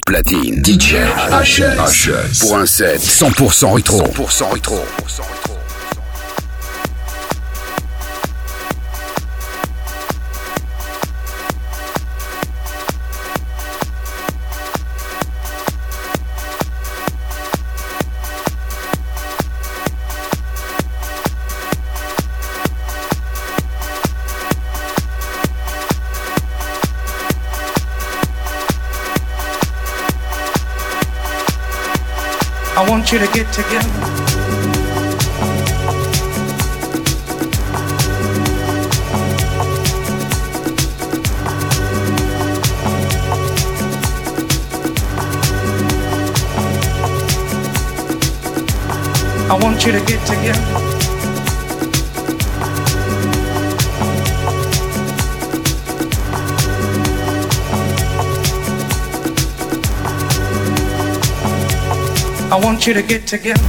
platine. DJ HS. Pour un set 100% rétro. 100% rétro. I want you to get together. I want you to get together. I want you to get together.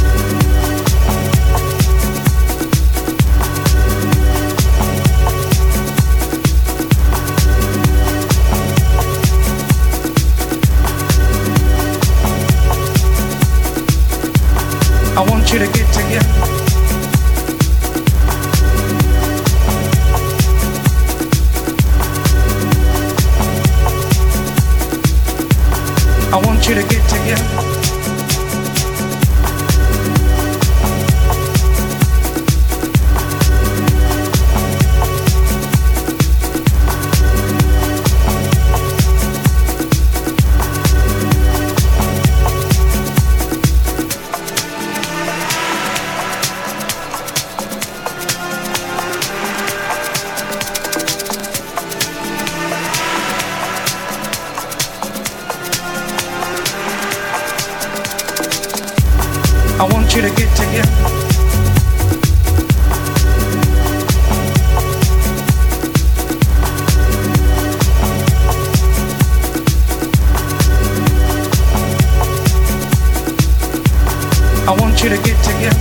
I want you to get together. I want you to get together. I want you to get together. I want you to get together.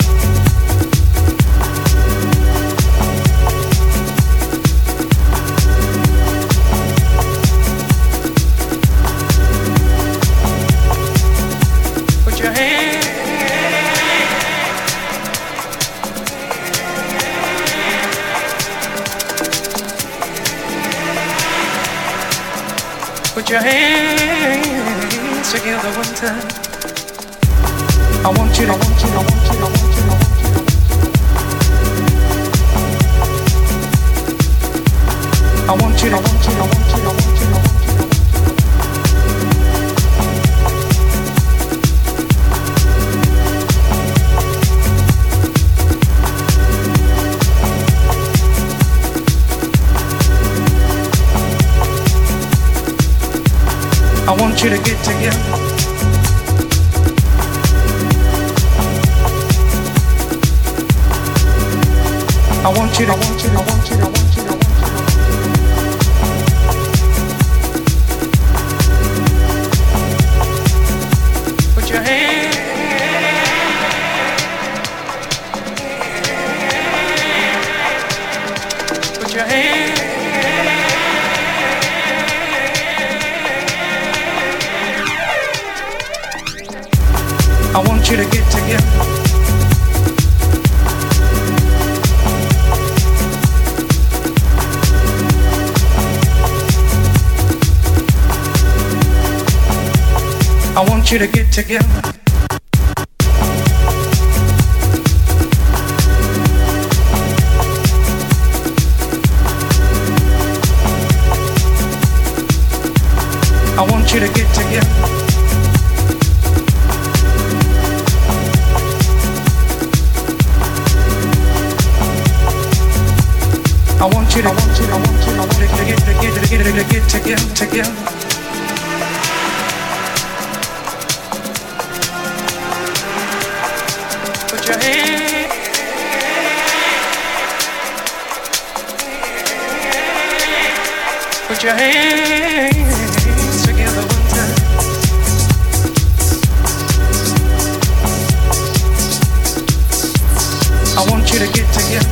Put your hands. Put your hands together one time. I want you to, I want you to, I want you to, I want you to, I want you to. I want you to, I want you to, I want you to, I want you to, I want you to. I want you to get together. I want you to, I want you to, I want you to, I want you to, I want you to. Put your hands. Put your hands. I want you to get together. I want you to get together. I want you to get together. I want you to, I want you to, I want you to, I want you to get together. Put your hands. Put your hands together one time. I want you to get together.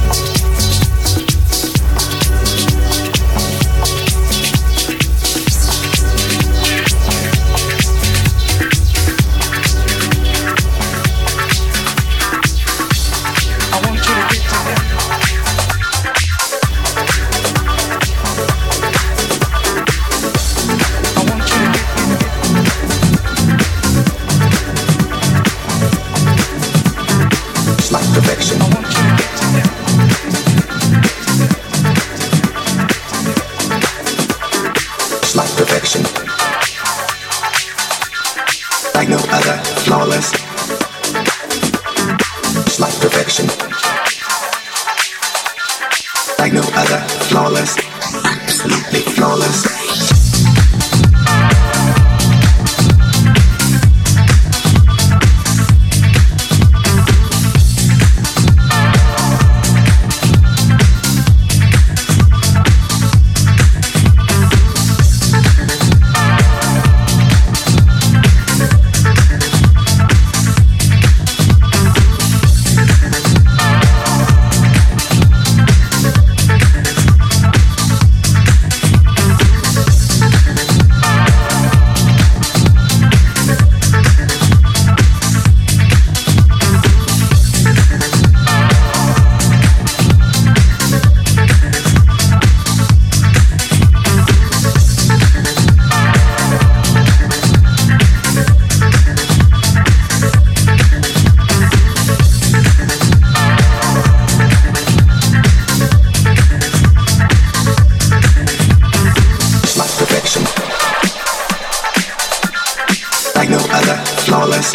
flawless,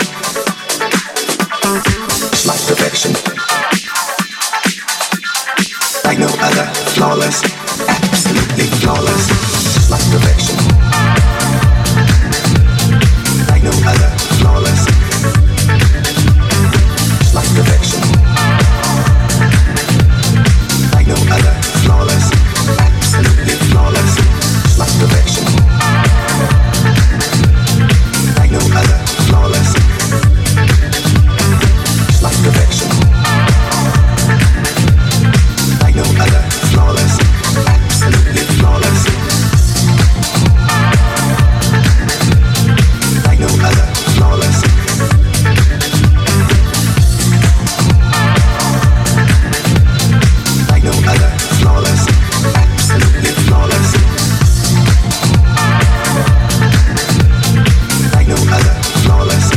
like perfection, like no other, flawless, absolutely flawless, like perfection, like no other, flawless, like perfection, like no other, flawless, absolutely flawless, like perfection, like no other, flawless, like perfection, like no other, flawless, absolutely flawless, like no other, flawless, like no other, flawless, absolutely flawless, like no other, flawless,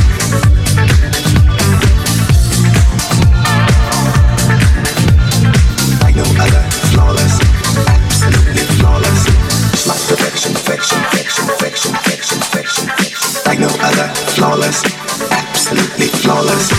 like no other, flawless, absolutely flawless, like perfection, perfection, perfection, perfection, perfection, perfection, perfection, like no other, flawless, absolutely flawless.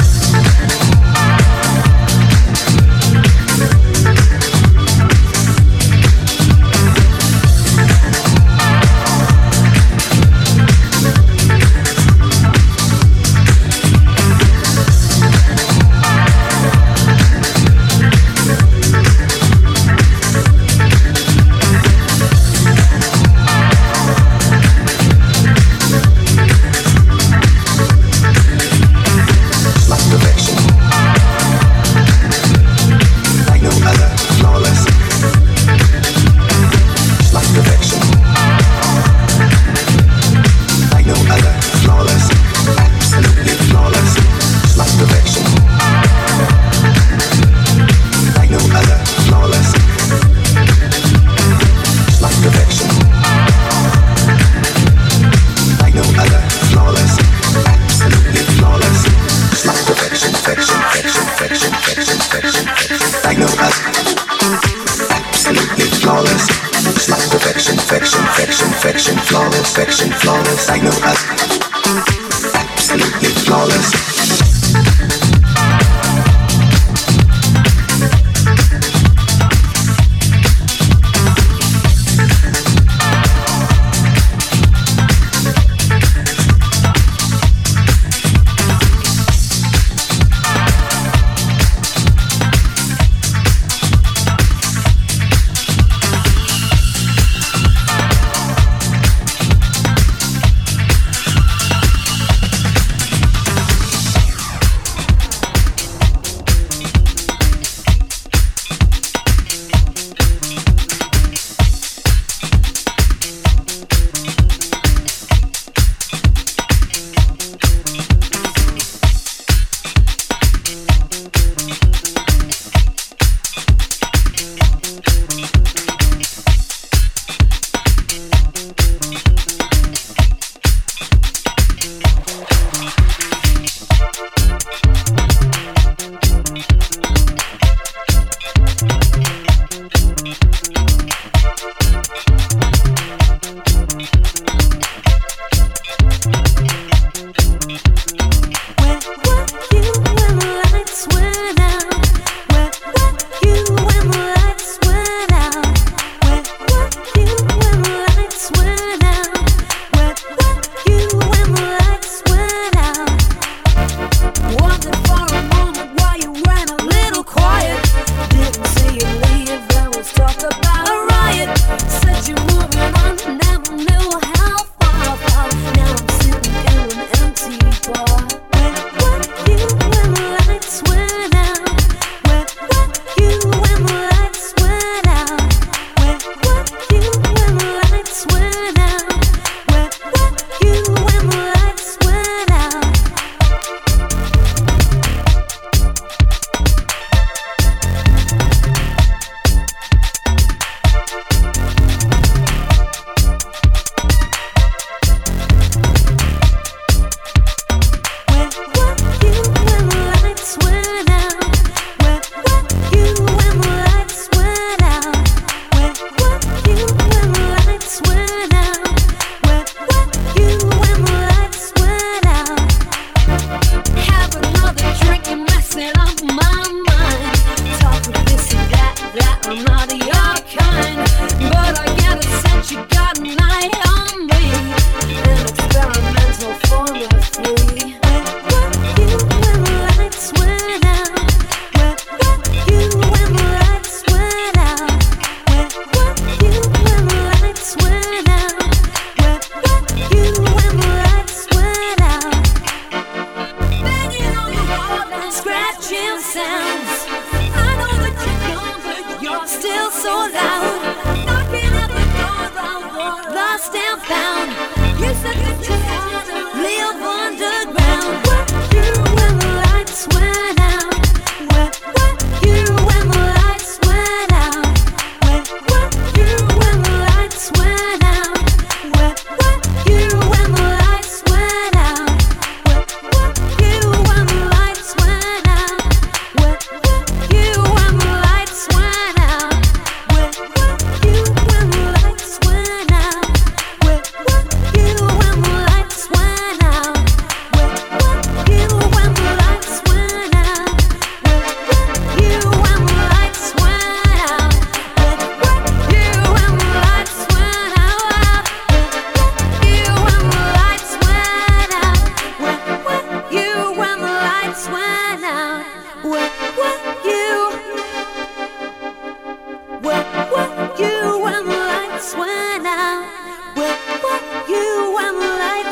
Perfection, flawless, like no other, absolutely flawless.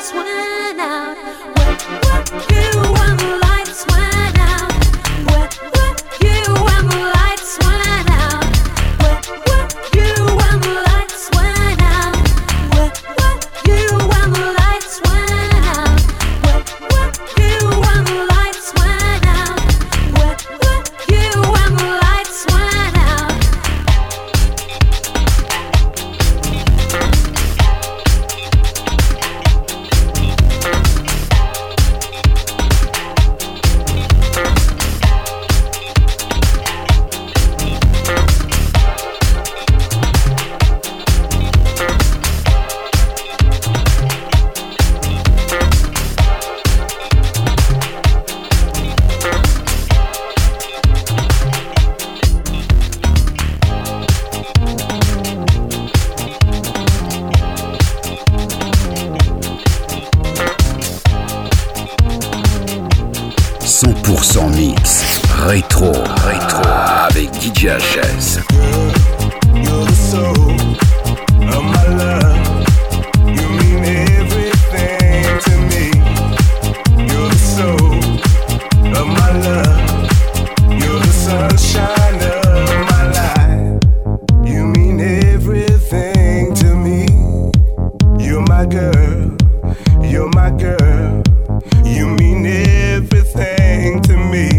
100% mix, rétro, avec DJ HS. You're the soul of my love. You mean everything to me. You're the soul of my love. You're the sunshine of my life. You mean everything to me. You're my girl. You're my girl. You mean everything to me.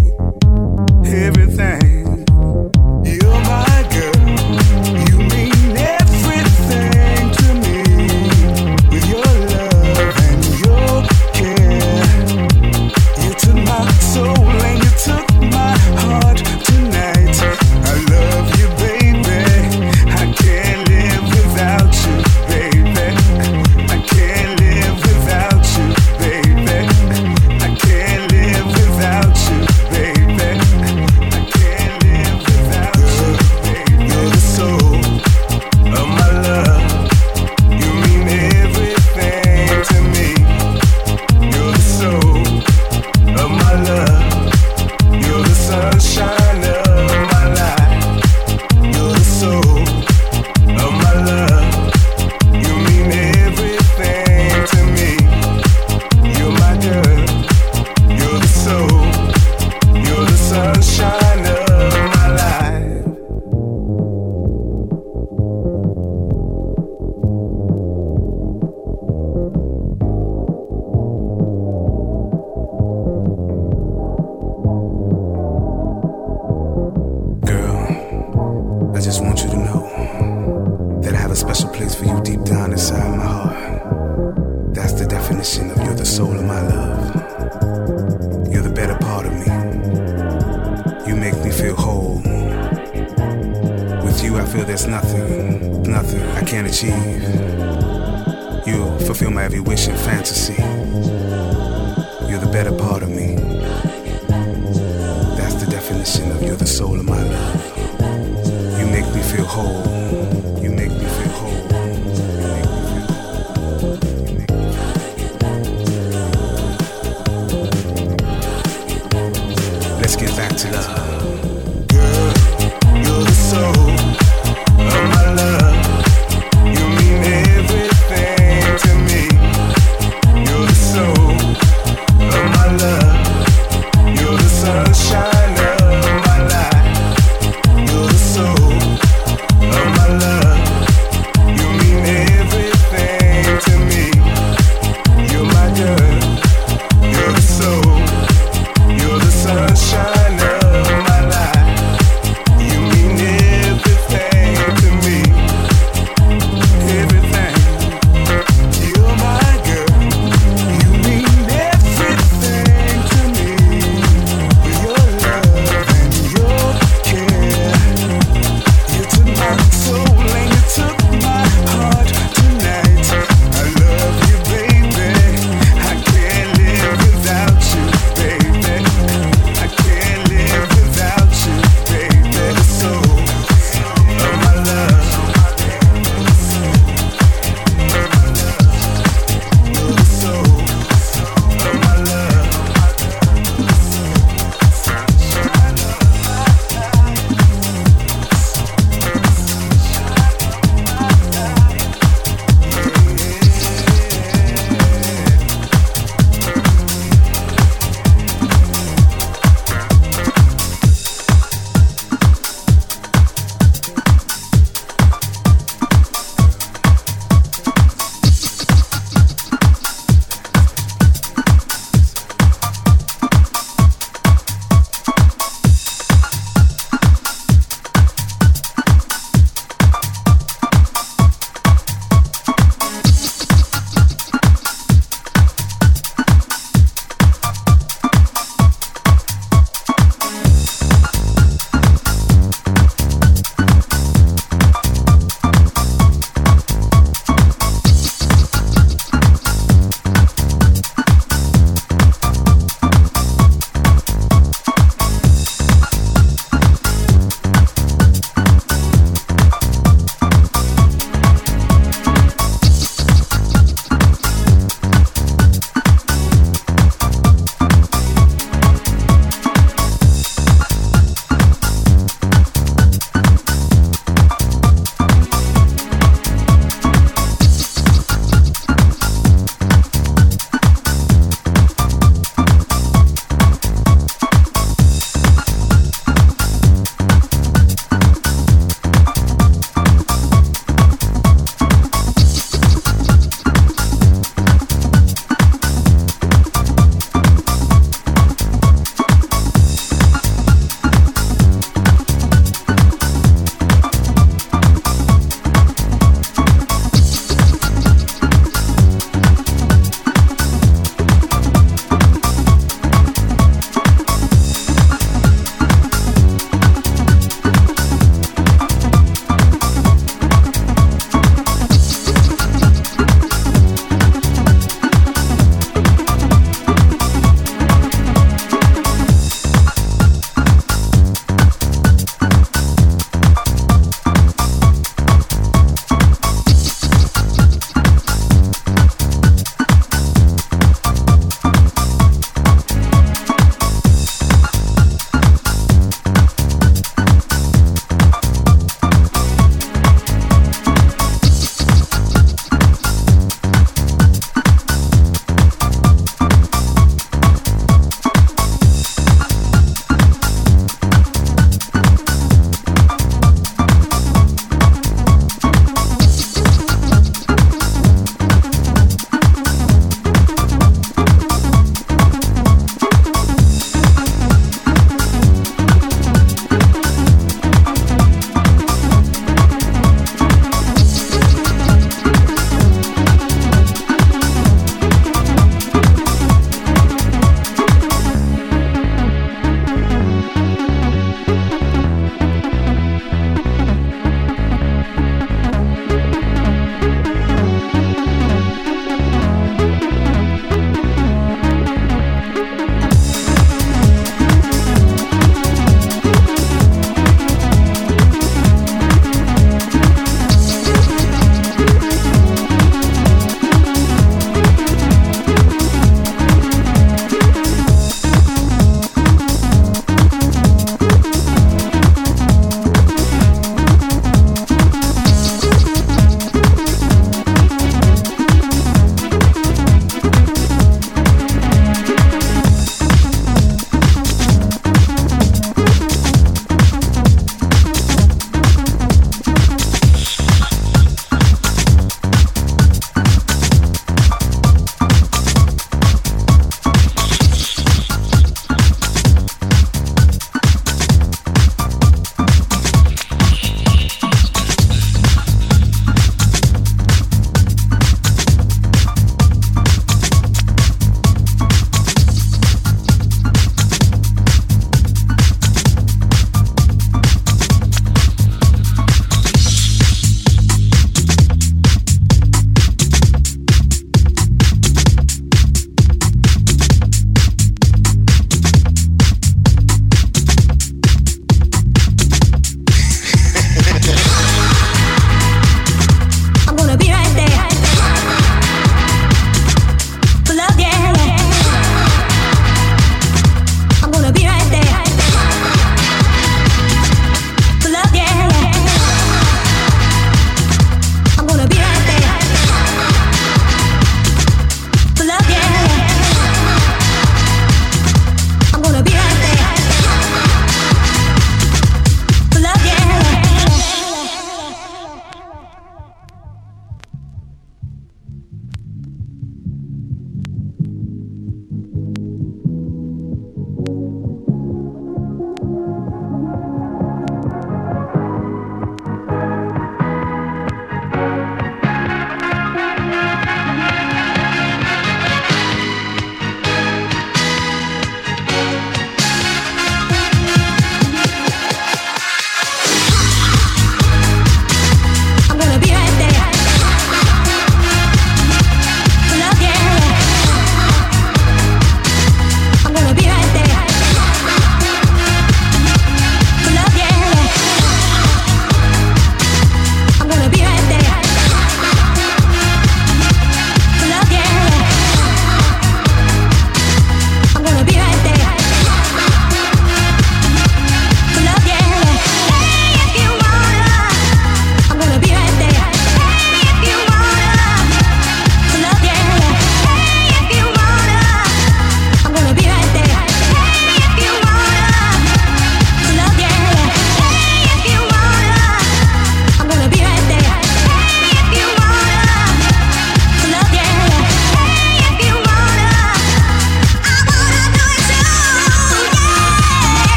Everything. You're my girl. You mean everything to me. With your love and your care. You took my soul and you took my heart tonight. I love you, baby. I can't live without you, baby. I can't live without you, baby. I can't live without you, baby. I can't live without you, baby. You're the soul of my love. You mean everything to me. You're the soul of my love. You're the sunshine of my life. You're the soul of my love. You mean everything to me. You're my girl. You're the soul. You're the sunshine of my life. Girl, I just want you to know that I have a special place for you deep down inside my heart. That's the definition of you're the soul of my love. You're the better part of me. You make me feel whole. With you I feel there's nothing I can't achieve. You fulfill my every wish and fantasy. You're the better part of me. That's the definition of you're the soul of my love. You make me feel whole. You make me feel whole. You make me feel whole. You make me feel. Let's get back to love. Girl, you're the soul of my love. You mean everything to me. You're the soul of my love. You're the sunshine of my life. You're the soul of my love. You mean everything to me. You're my girl. You're the soul. You're the sunshine of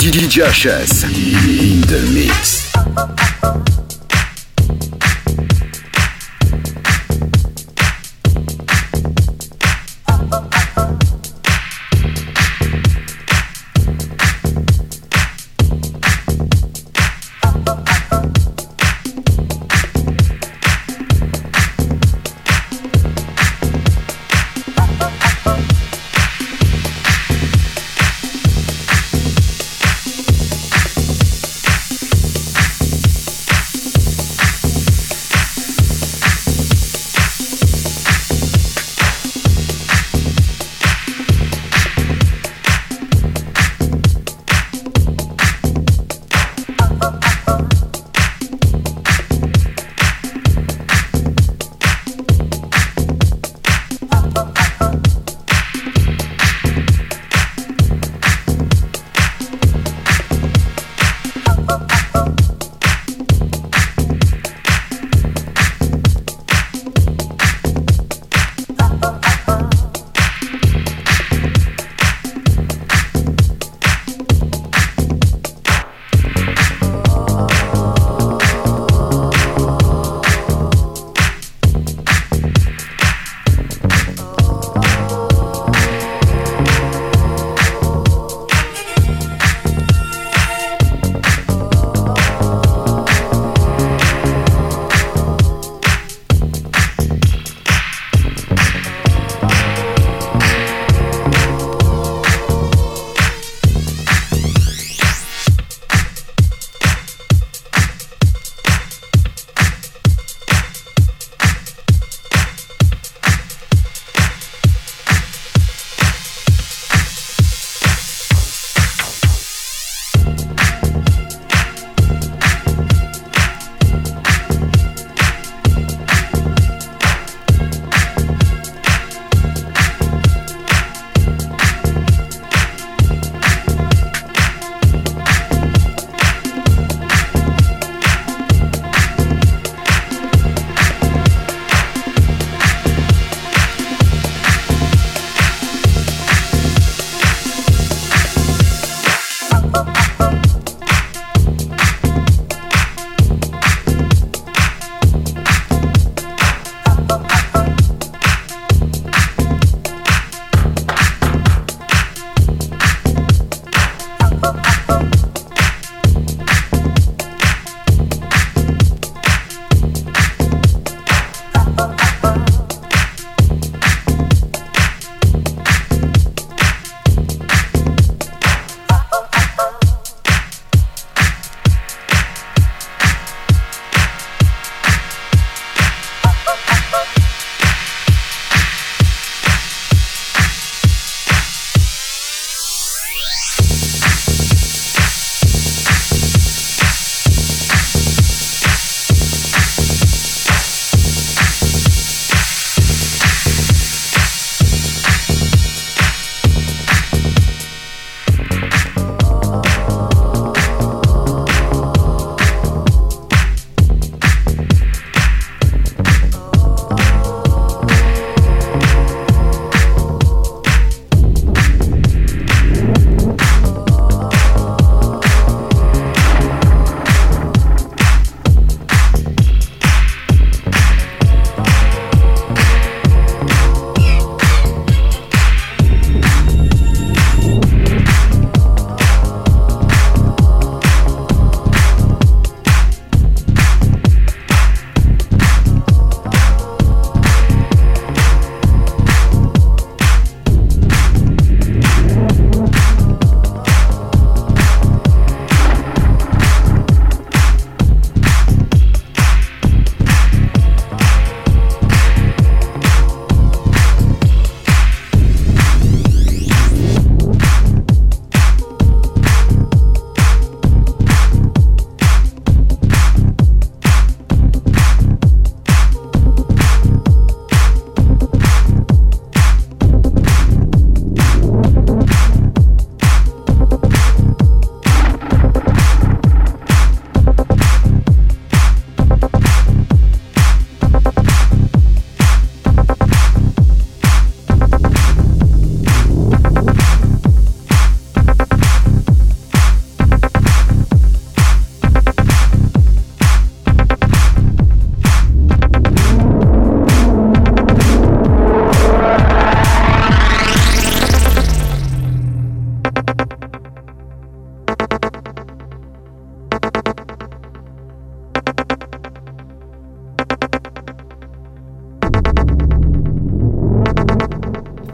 DJ HS in the mix.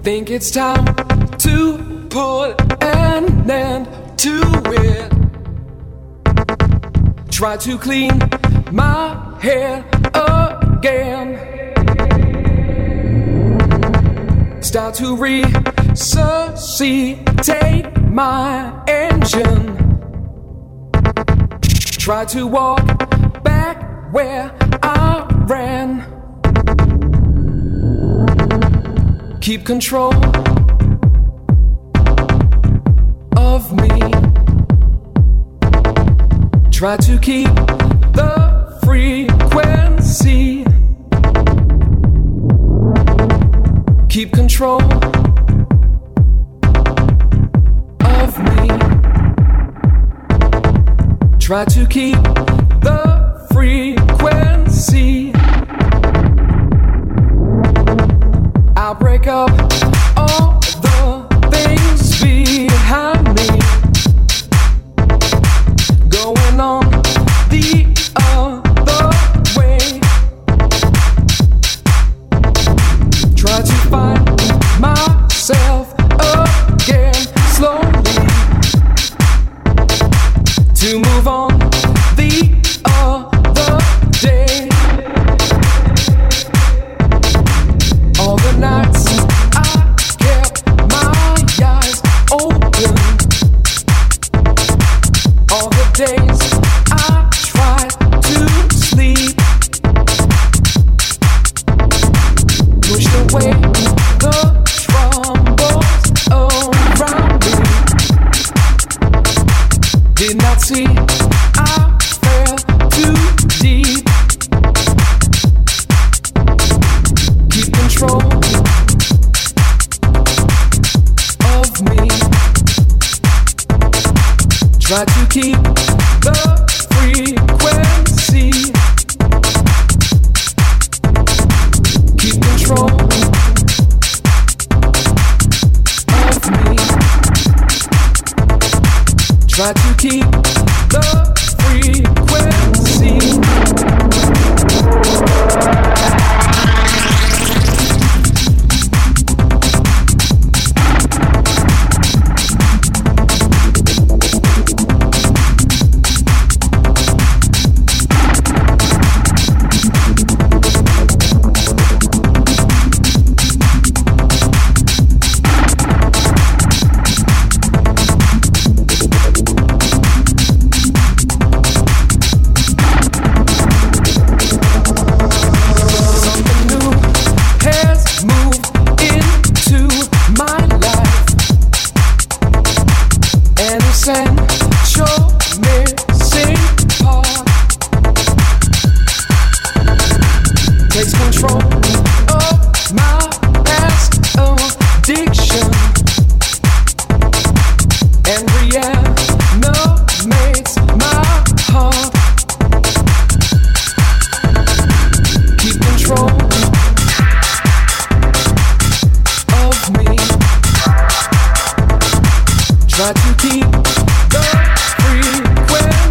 Think it's time to put an end to it. Try to clean my head again. Start to resuscitate my engine. Try to walk back where I ran. Keep control of me. Try to keep the frequency. Keep control of me. Try to keep the frequency. I'll break up all the things behind me. Going on the other way. Try to find myself again slowly. To move on the other day. All the nights I kept my eyes open. All the days I tried to sleep. Pushed away the troubles around me. Did not see I fell too deep. Keep control of me. Try to keep the frequency. Keep control of me. Try to keep the frequency. Try to keep the frequency.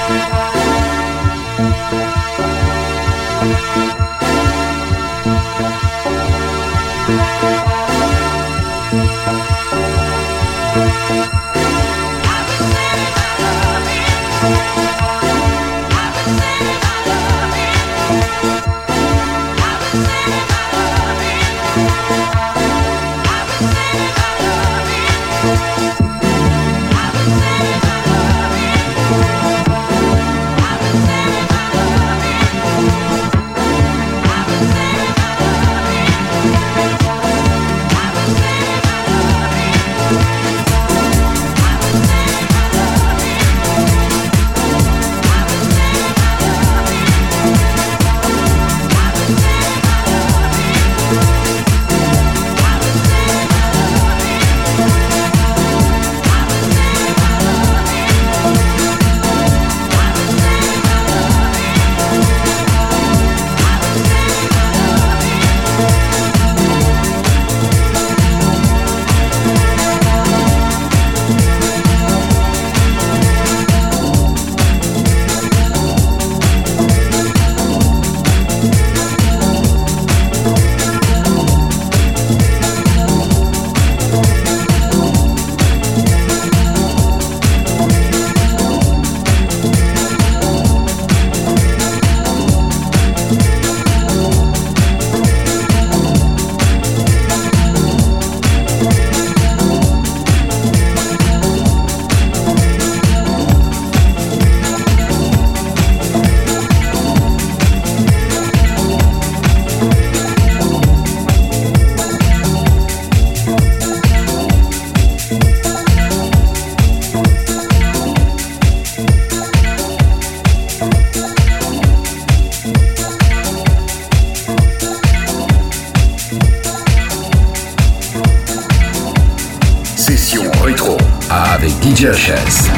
avec DJ HS.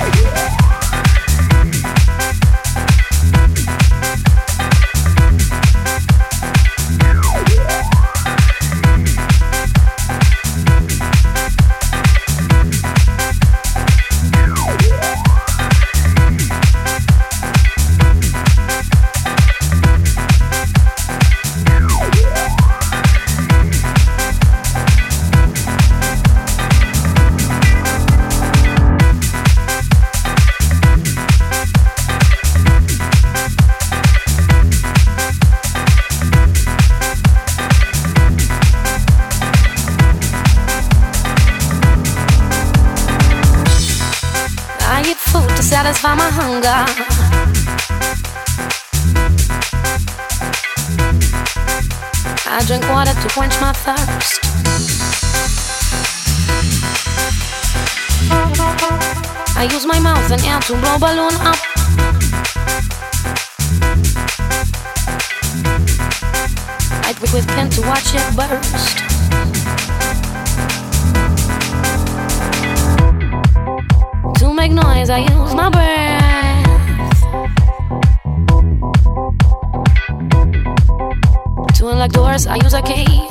Satisfy my hunger. I drink water to quench my thirst. I use my mouth and air to blow balloon up. I prick with pen to watch it burst. To make noise, I use my breath. To unlock doors, I use a key.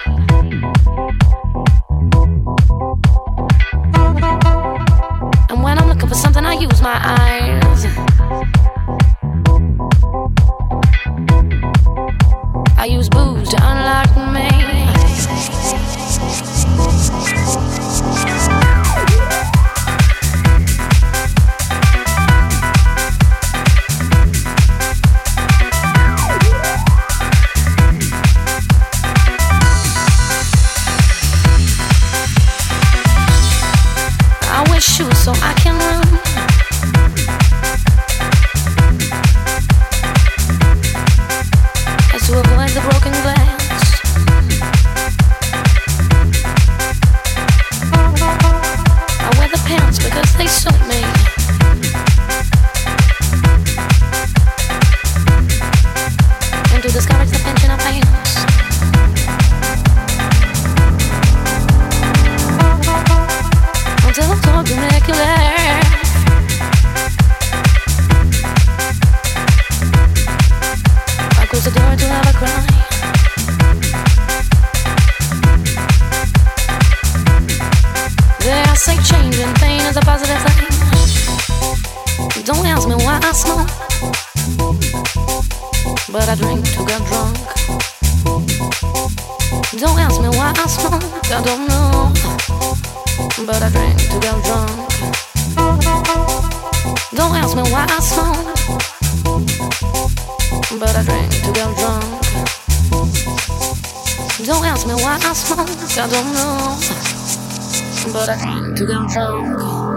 And when I'm looking for something, I use my eyes. I use booze to unlock me. Don't ask me why I smoke, but I drink to get drunk. Don't ask me why I smoke, I don't know, but I drink to get drunk. Don't ask me why I smoke, but I drink to get drunk. Don't ask me why I smoke, I don't know, but I drink to get drunk.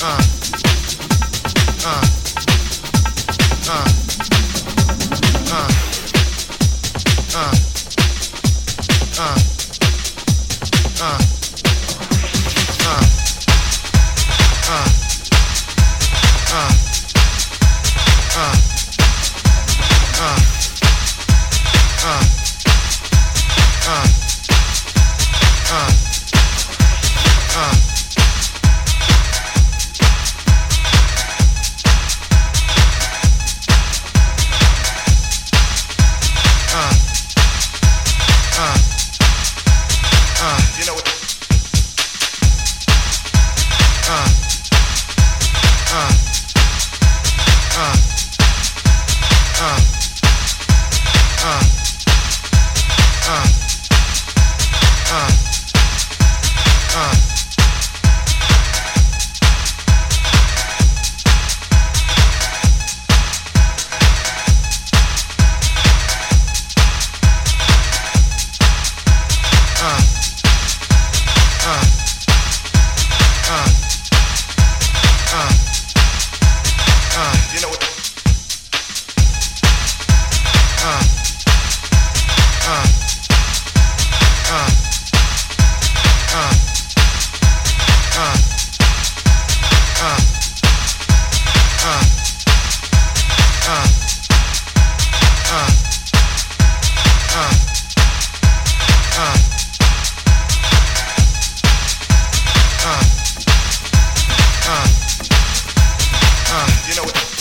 You know what?